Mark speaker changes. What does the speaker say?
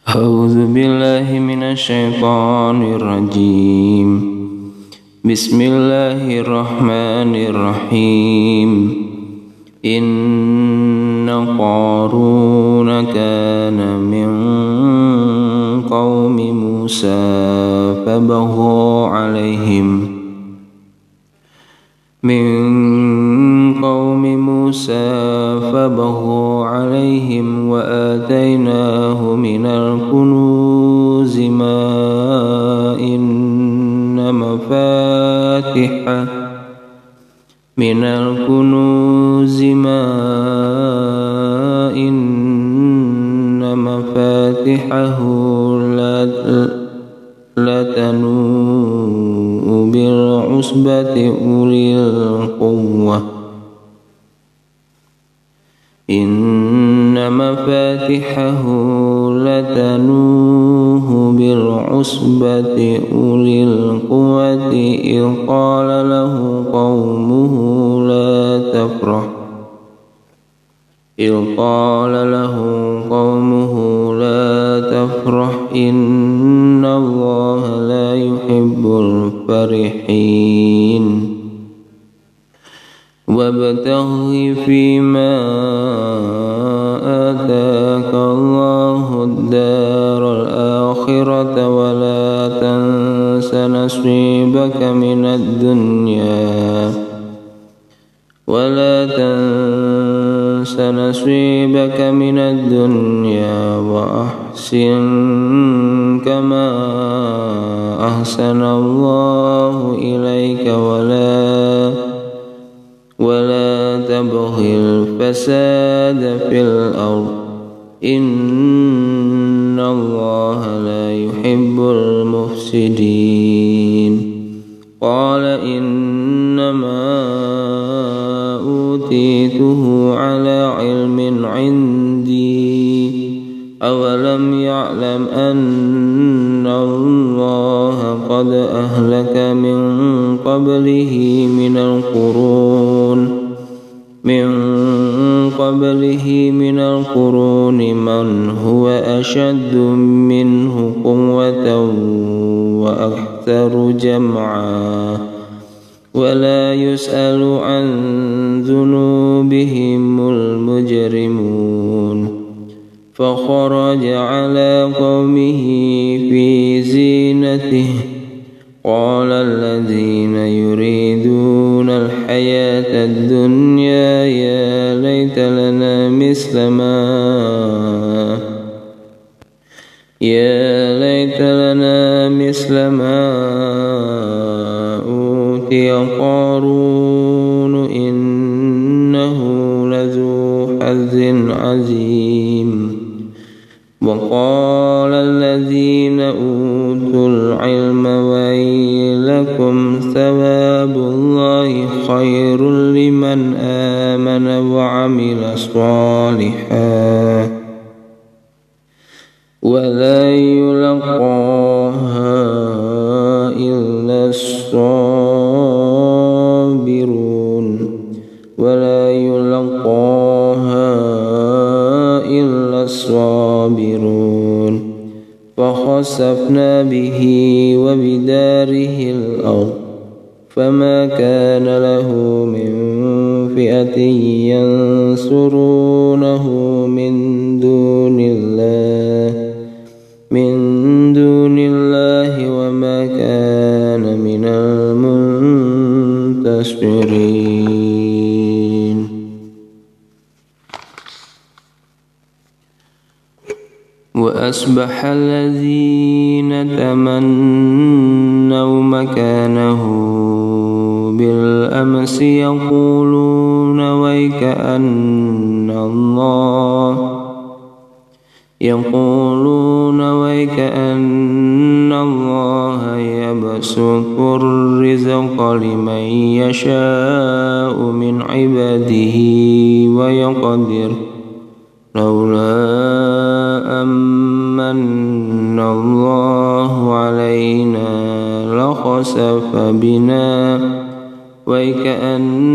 Speaker 1: A'udzu billahi minasyaitonir rajim. Bismillahirrahmanirrahim. Inna Qaruna kana min qaumi Musa fabagha alaihim wa atainahu minal kunuzi ma inna mafatihahu latanu bil usbati ulil quwwah. Inna mafatihahu latanuhu bil usbati ulil quwwati idh qala lahu qaumuhu la tafrah inna Allaha la yuhibbul farihin. Wabtaghi fima ataka Allahu ad-daral akhirata wa la tansa nasibaka minad dunya wa ahsin kama ahsana Allahu ilaika ولا تبغي الفساد في الأرض إن الله لا يحب المفسدين. قال إنما أوتيته على علم عندي أولم يعلم أن الله قد أهلك من قبله من القرون من هو أشد منه قوة وأكثر جمعا ولا يسأل عن ذنوبهم المجرمون. فخرج على قومه في زينته قال الذين يريدون الحياة الدنيا يا ليت لنا مثل ما أوتي قارون إنه لذو حظ عظيم. وقال الذين أوتوا العلم ويلكم ثواب الله خير لمن آمن وعمل صالحا ولا يلقاها إلا الصابرون. فخسفنا به وبداره الأرض فما كان له من فئة ينصرونه من دون الله وما كان من المنتصرين. وأصبح الذين تمنوا مكانه بالأمس يقولون ويكأن الله يبسط الرزق لمن يشاء من عباده ويقدر لولا أمن الله علينا لخسف بنا وكأن